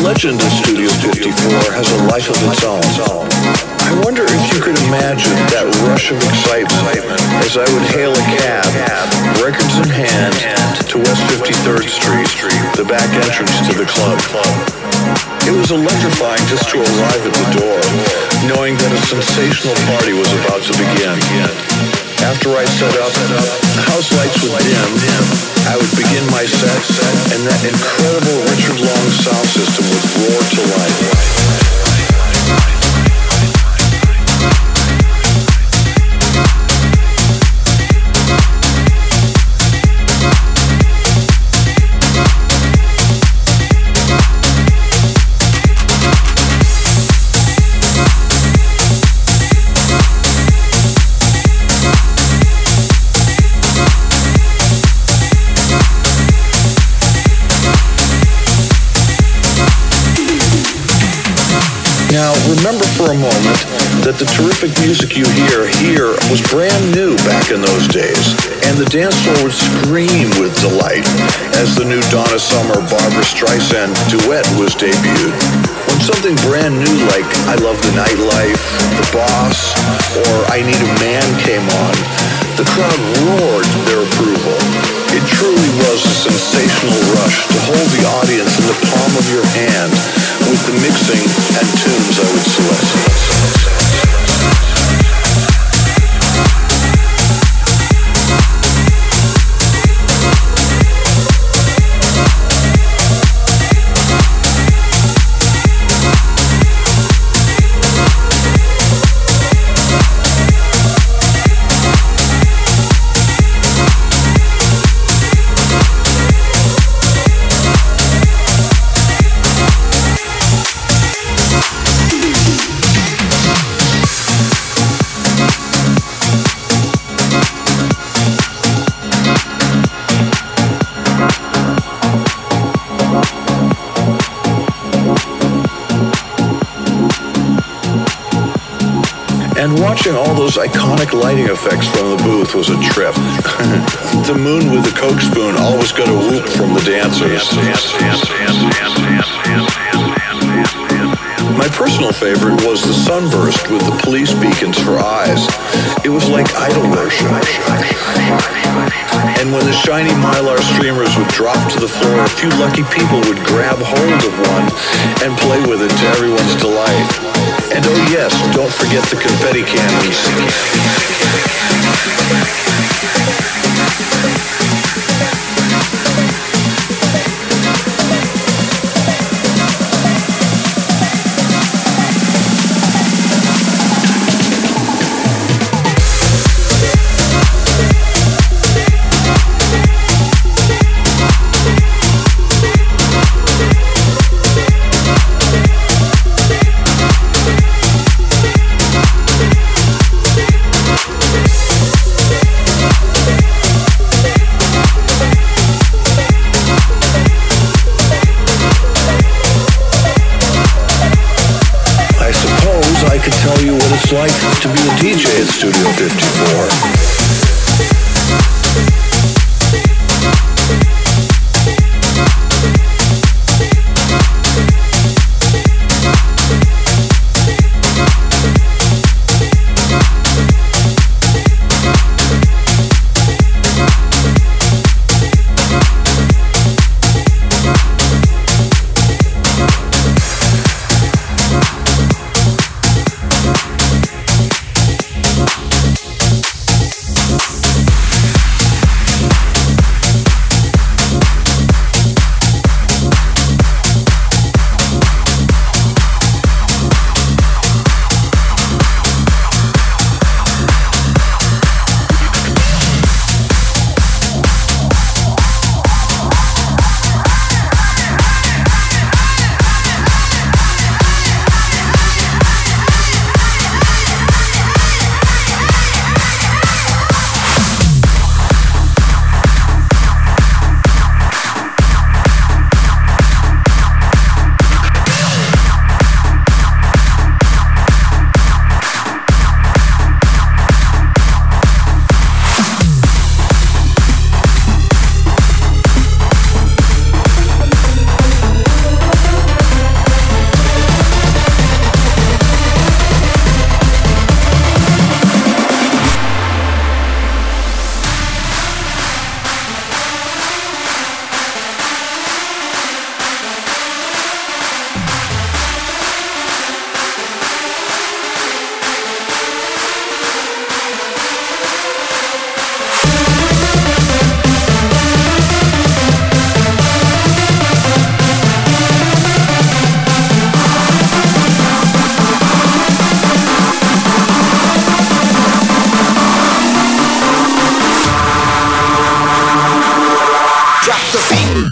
legend of Studio 54 has a life of its own. I wonder if you could imagine that rush of excitement as I would hail a cab, records in hand, to West 53rd Street, the back entrance to the club. It was electrifying just to arrive at the door, knowing that a sensational party was about to begin. After I set up, the house lights would dim, I would begin my set, and that incredible Richard Long sound system would roar to life. Now, remember for a moment that the terrific music you hear here was brand new back in those days, and the dance floor would scream with delight as the new Donna Summer Barbra Streisand duet was debuted. When something brand new like I Love the Nightlife, The Boss, or I Need a Man came on, the crowd roared their approval. It truly was a sensational rush to hold the audience in the palm of your hand with the mixing and tunes I would select. And watching all those iconic lighting effects from the booth was a trip. The moon with the Coke spoon always got a whoop from the dancers. My personal favorite was the sunburst with the police beacons for eyes. It was like idol worship. And when the shiny Mylar streamers would drop to the floor, a few lucky people would grab hold of one and play with it to everyone's delight. And oh yes, don't forget the confetti cannons. It's like to be a DJ at Studio 54. the beat.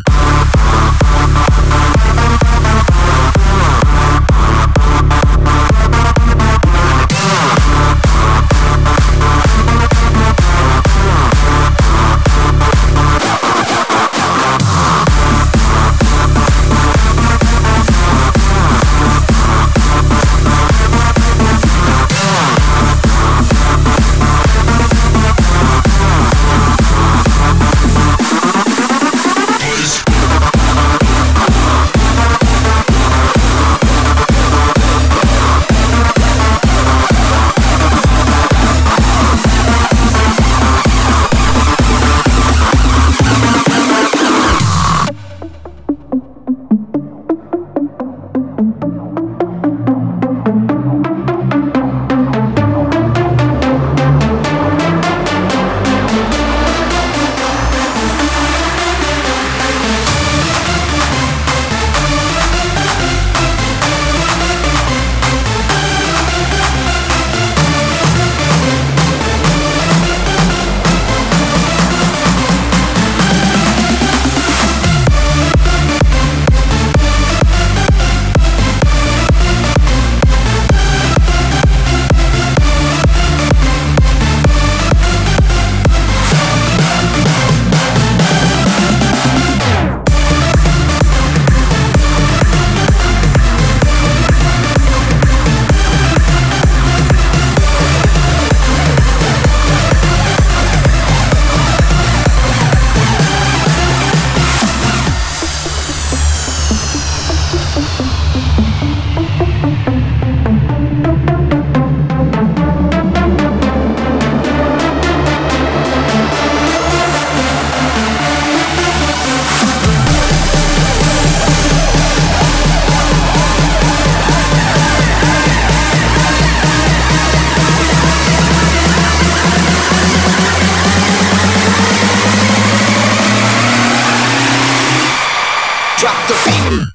Drop the beat.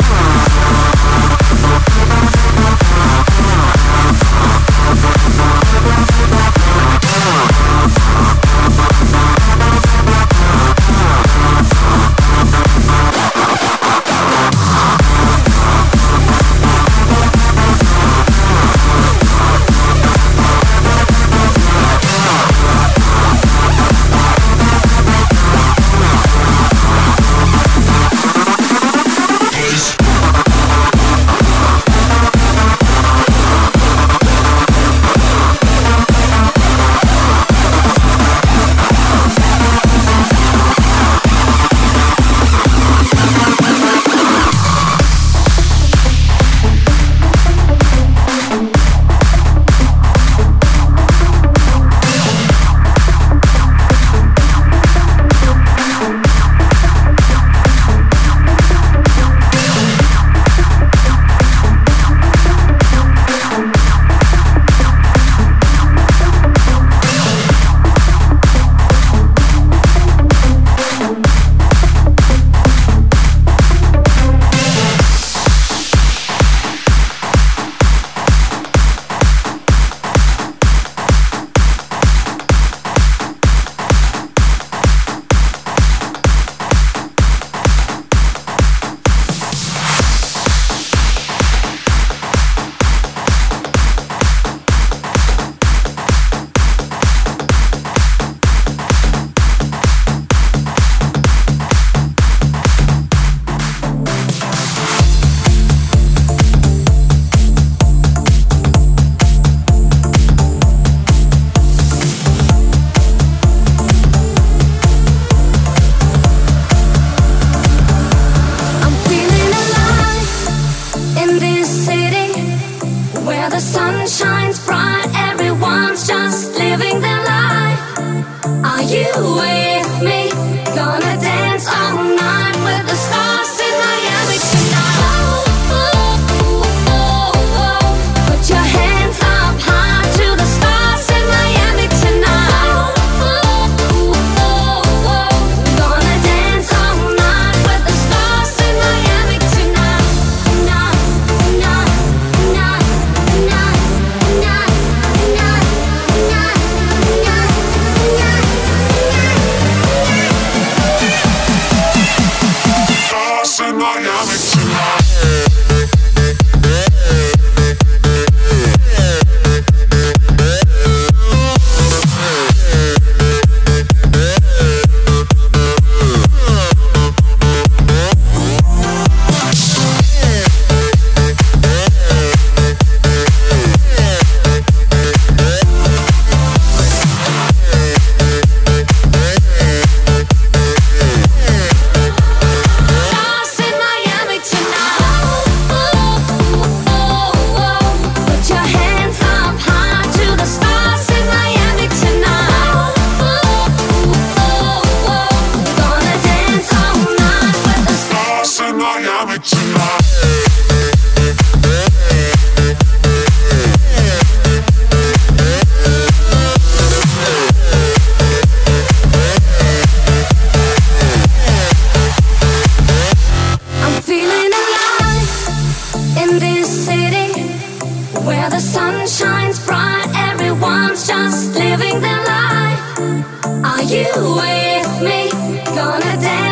Peace.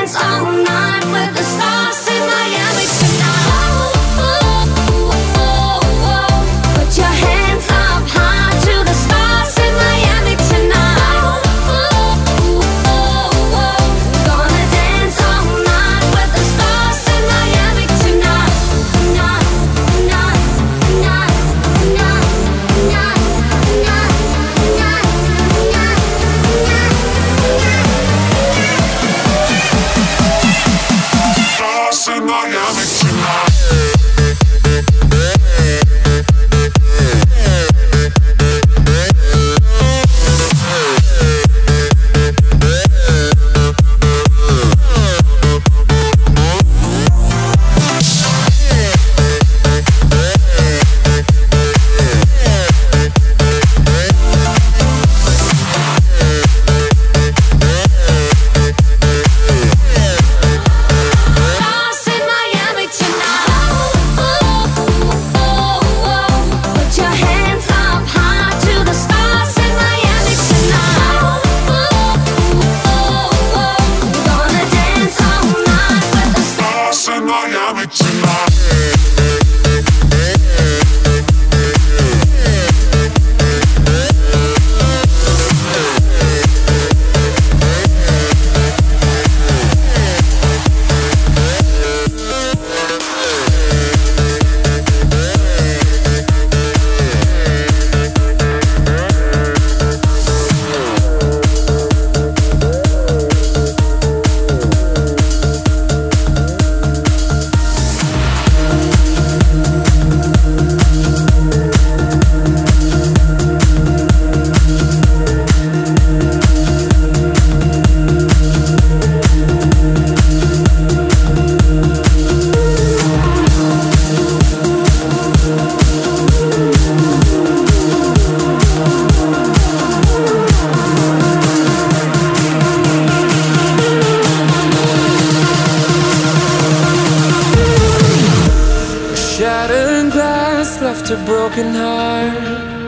left a broken heart.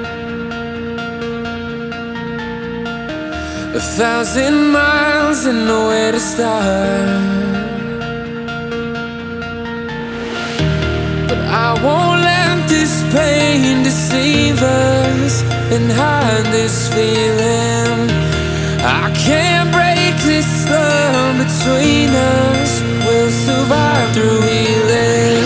1,000 miles and nowhere to start. But I won't let this pain deceive us and hide this feeling. I can't break this love between us. We'll survive through healing.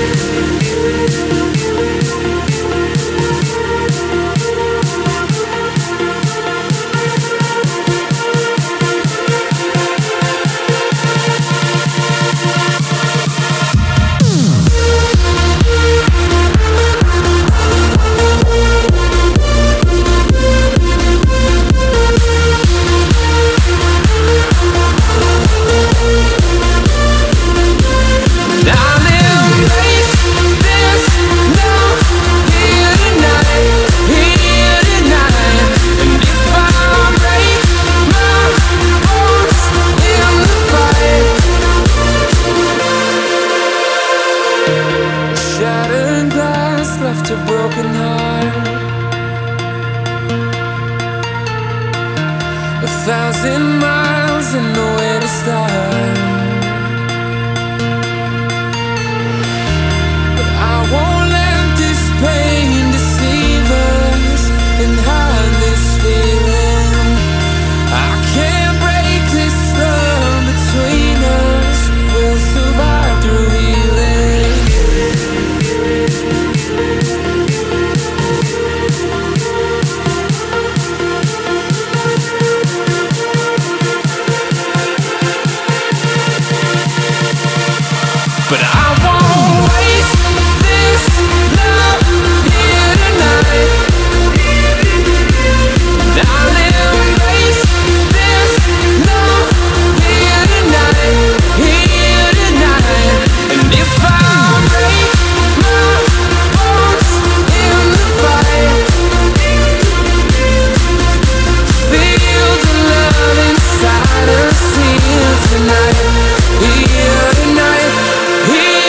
Left a broken heart. 1,000 miles and nowhere to start. But I won't let this pain deceive us and hide this feeling. I can't break this love between us. We'll survive through healing. But I won't waste this love here tonight. I'll embrace this love here tonight, here tonight. And if I break my bones in the fight, feel the love inside us here tonight, here tonight. Here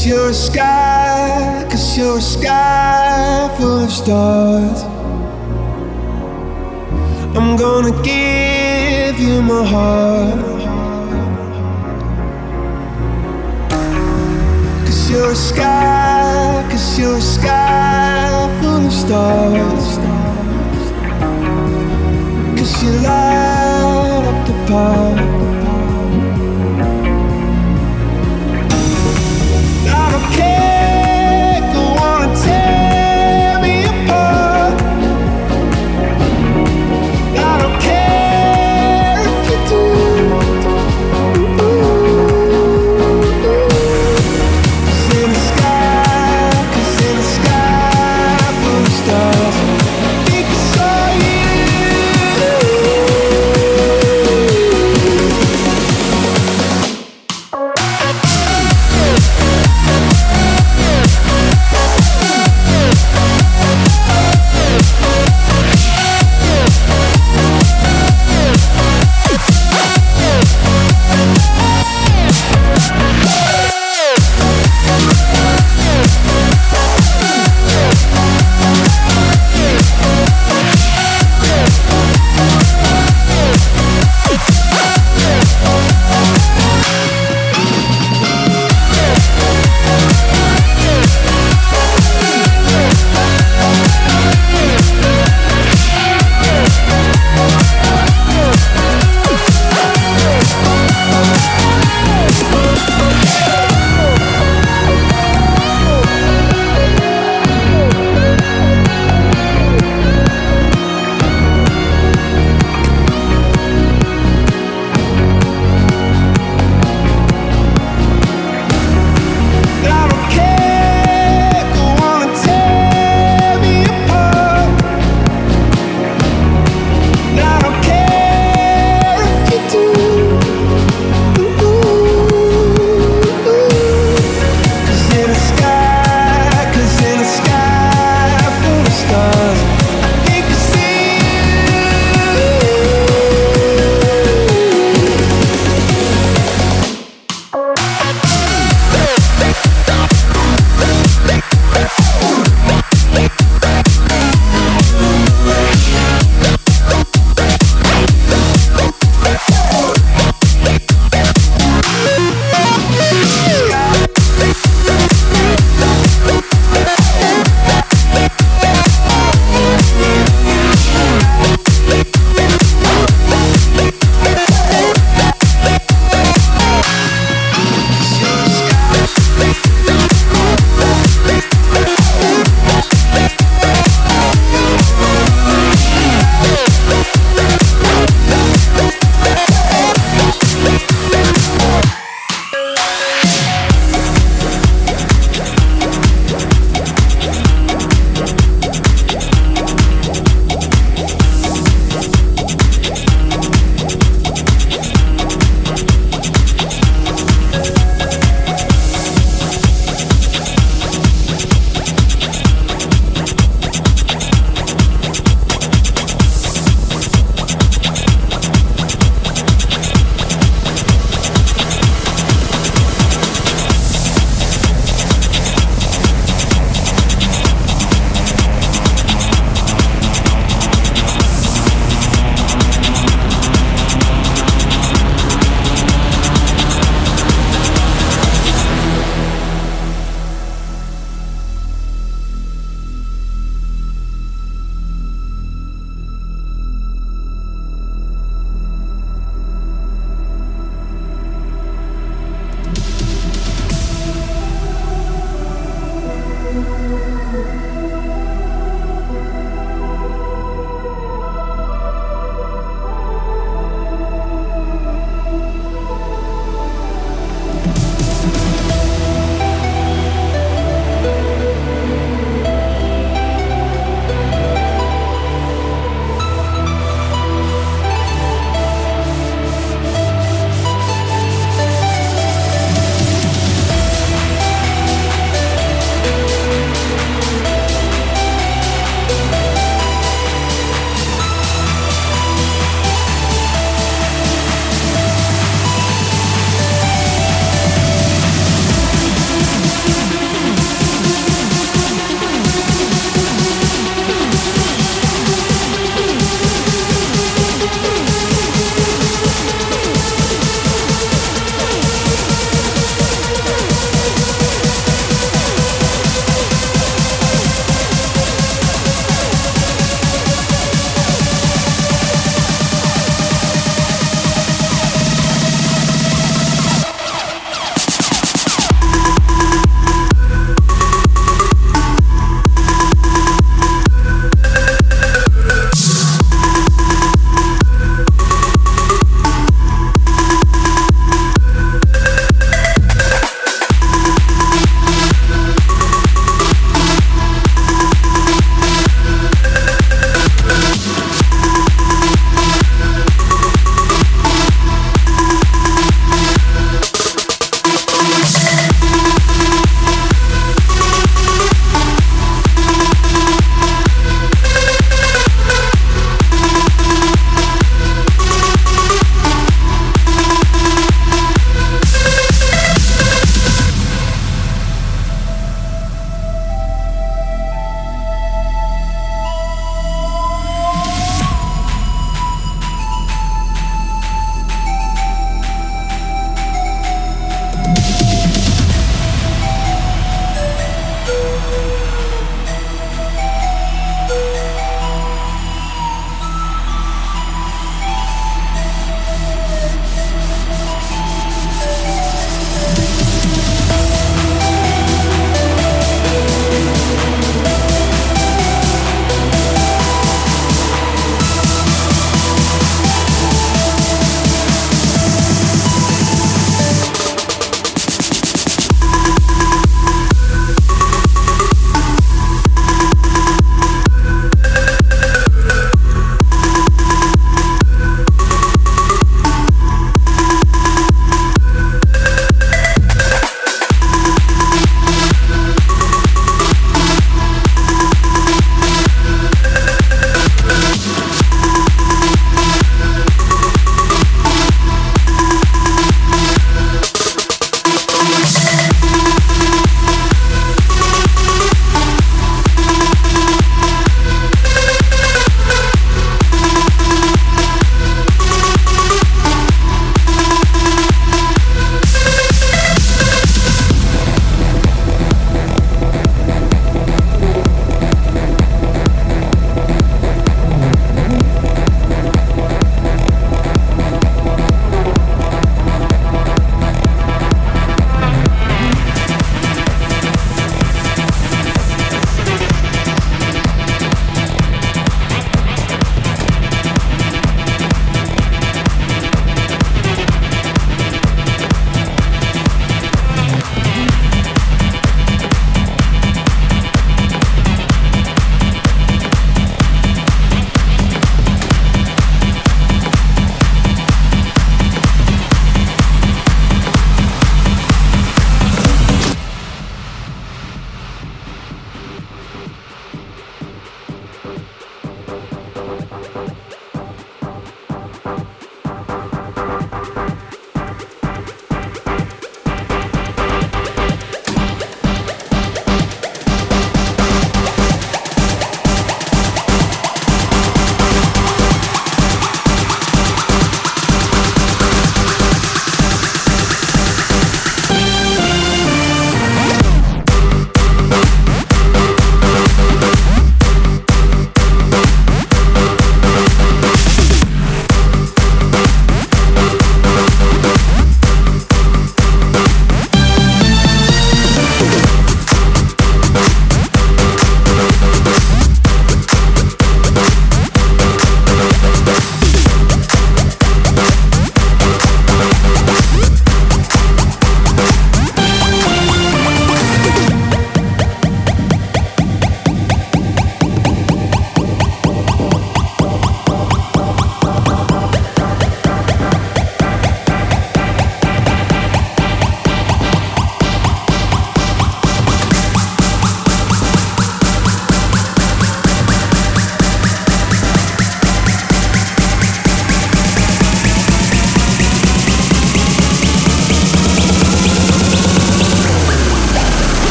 you're a sky, 'cause you're a sky full of stars. I'm gonna give you my heart. 'Cause you're a sky, 'cause you're a sky full of stars. 'Cause you light up the park. I don't care, go on and tear me apart. I don't care if you do. 'Cause in the sky full of stars, I think I saw you.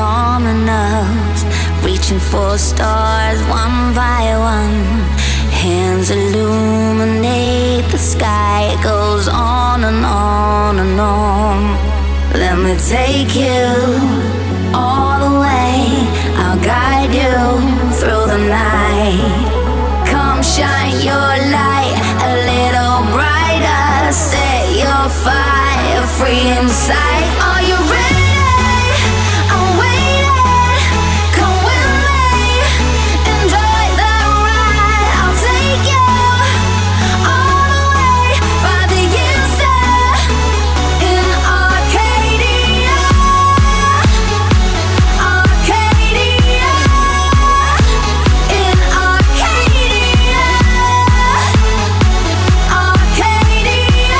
luminous, reaching for stars one by one. Hands illuminate the sky. It goes on and on and on. Let me take you all the way. I'll guide you through the night. Come shine your light a little brighter. Set your fire free inside. Are you ready? I'm waiting. Come with me. Enjoy the ride. I'll take you all the way. By the answer in Arcadia. Arcadia. In Arcadia. Arcadia.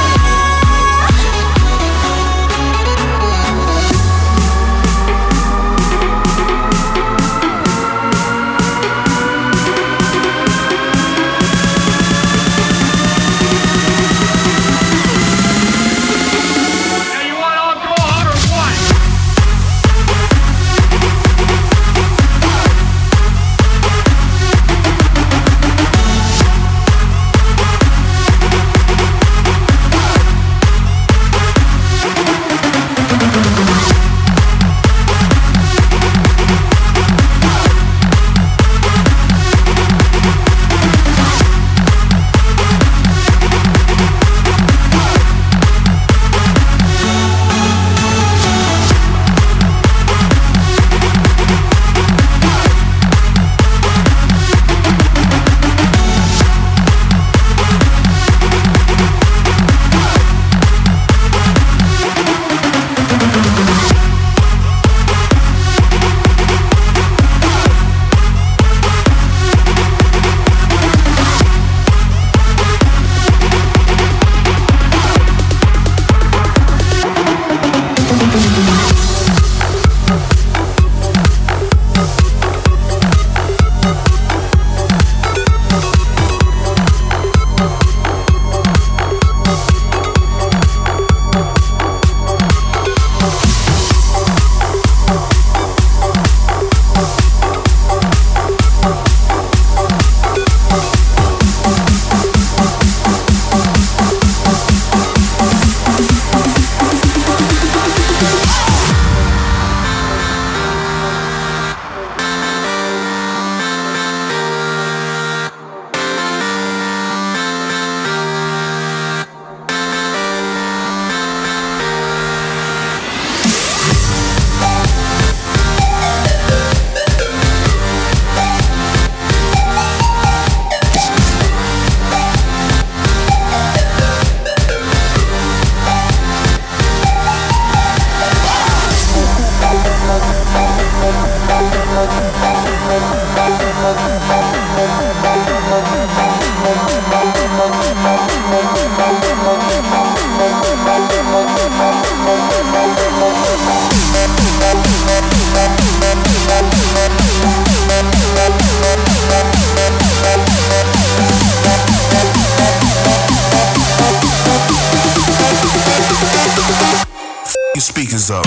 Your speakers up.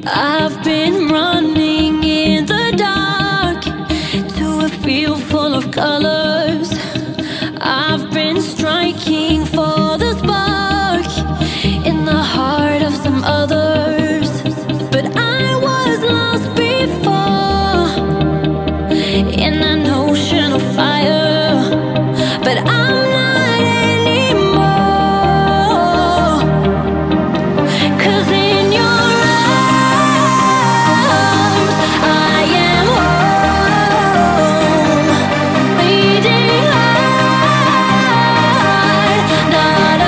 I've been running in the dark to a field full of colors. I've been striking for the spark in the heart of some others. But I was lost before in an ocean of fire. But I'm not anymore. 'Cause in your arms I am home. Bleeding heart, not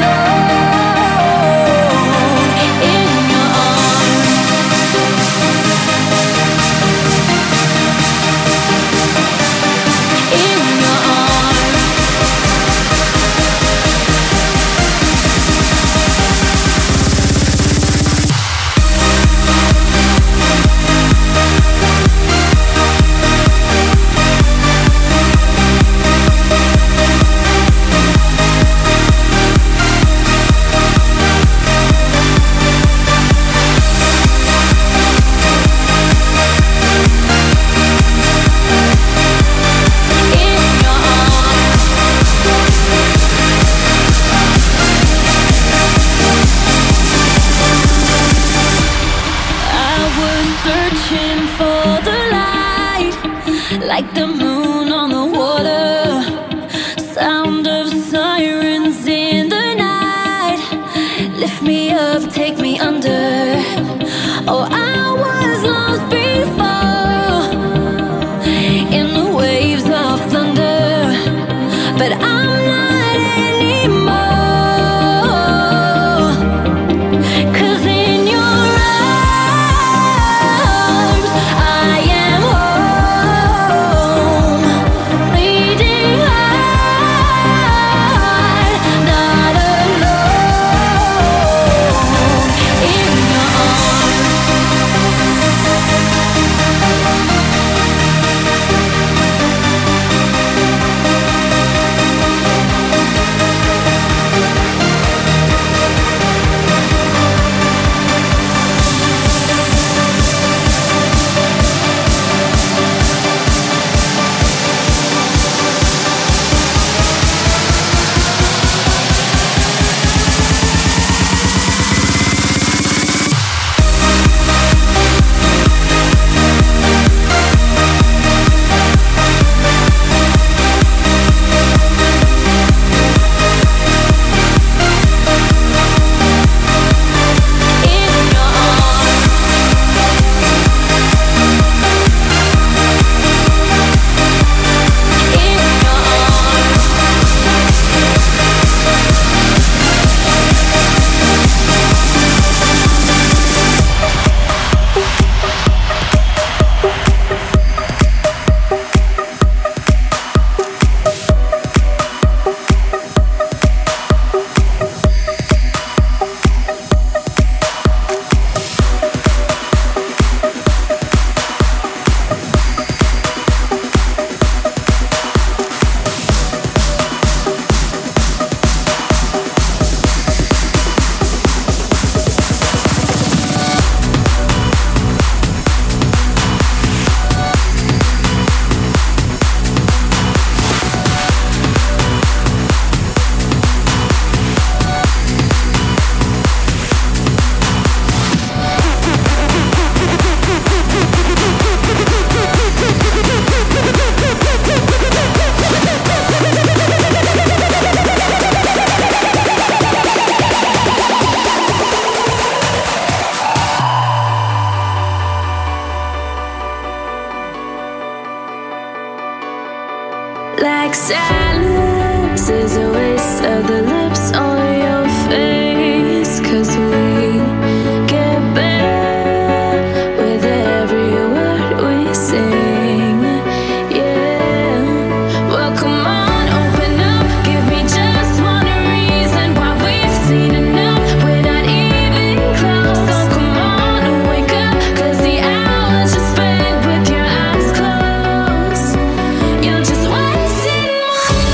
alone. In your arms. In your arms. Searching for the light, like the moon on the water. Sound of sirens in the night. Lift me up, take me under. Oh, I was lost before in the waves of thunder. But I'm not anymore. 'Cause in your arms I am home. Bleeding heart, not alone. In your arms. Like silence is a waste of the lips on your face. 'Cause we get better with every word we sing. Yeah. Well, come on, open up. Give me just one reason why we've seen enough. We're not even close. So come on and wake up. 'Cause the hours you spend with your eyes closed, you're just wasting more.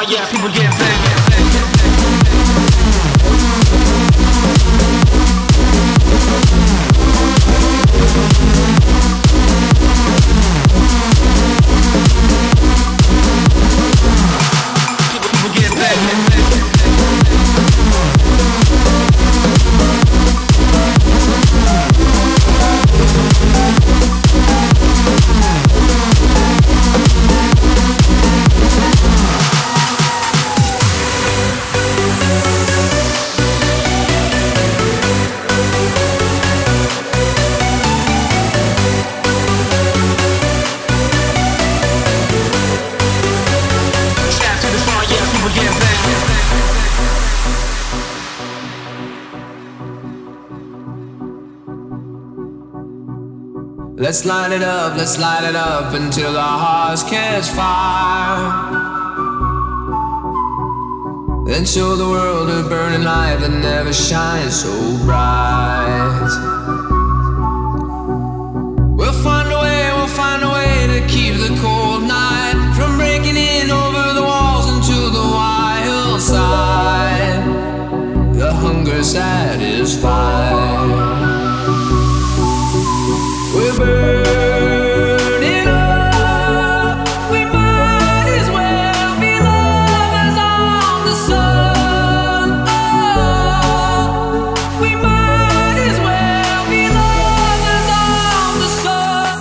yeah, people get back. Let's light it up until our hearts catch fire. Then show the world a burning light that never shines so bright. We'll find a way to keep the cold night from breaking in over the walls into the wild side. The hunger satisfied. We're burning up. We might as well be lovers on the sun. Oh, we might as well be lovers on the sun.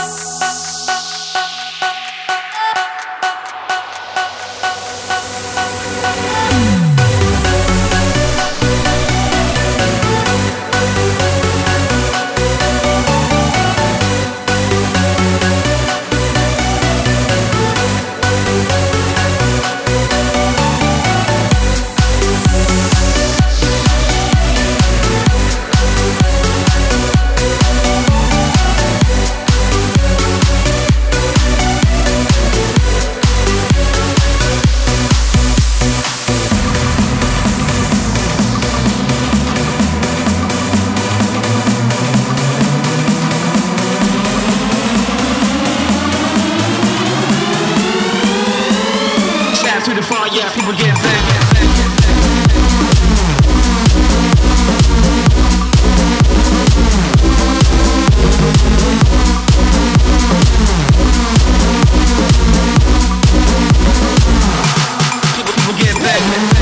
To the far, yeah, people get back. People get back.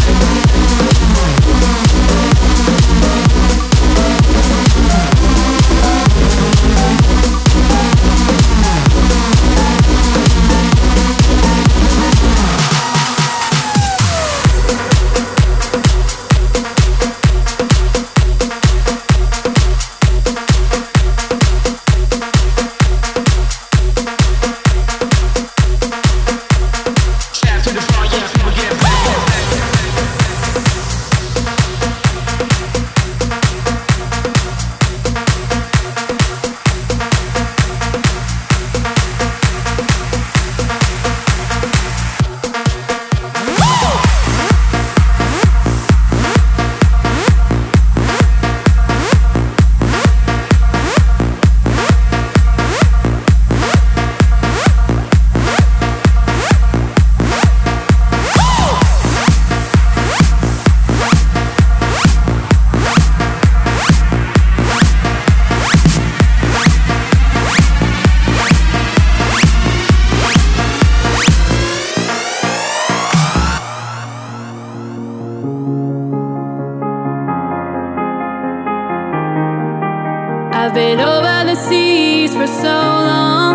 I've been over the seas for so long,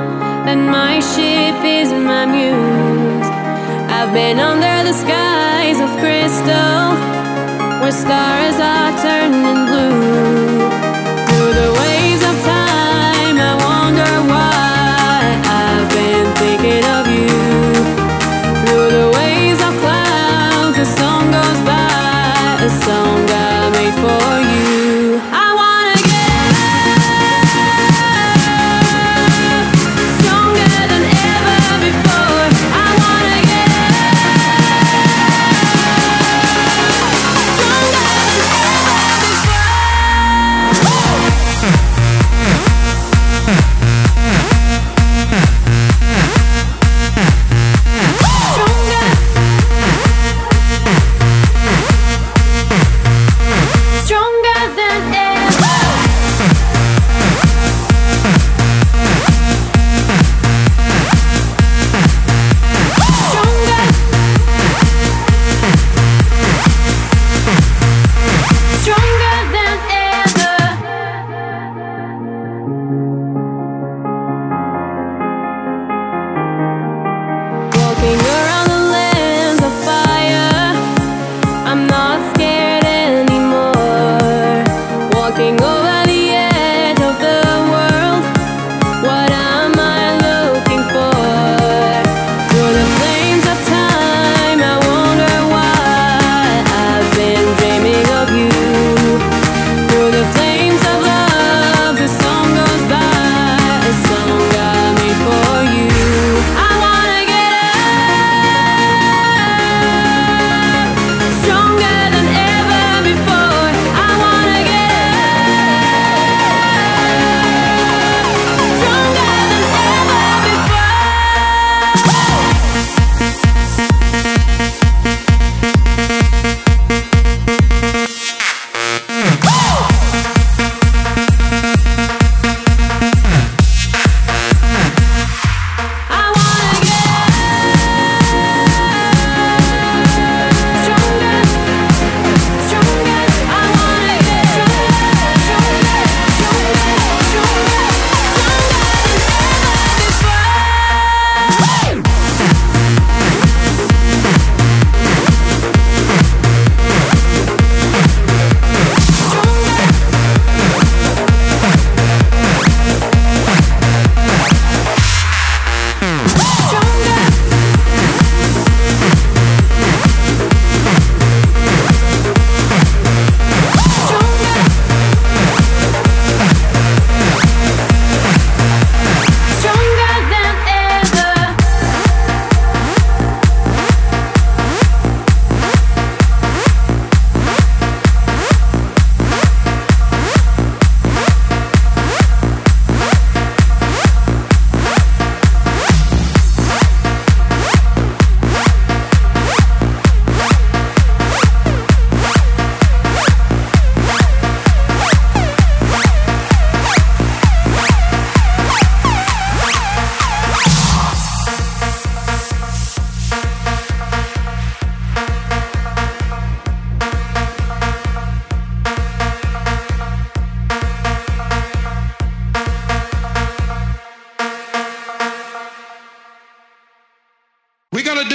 and my ship is my muse. I've been under the skies of crystal, where stars are turning blue. Through the waves of time, I wonder why I've been thinking of you. Through the waves of clouds, a song goes by, a song I made for you. Before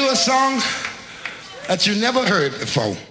you a song that you never heard before.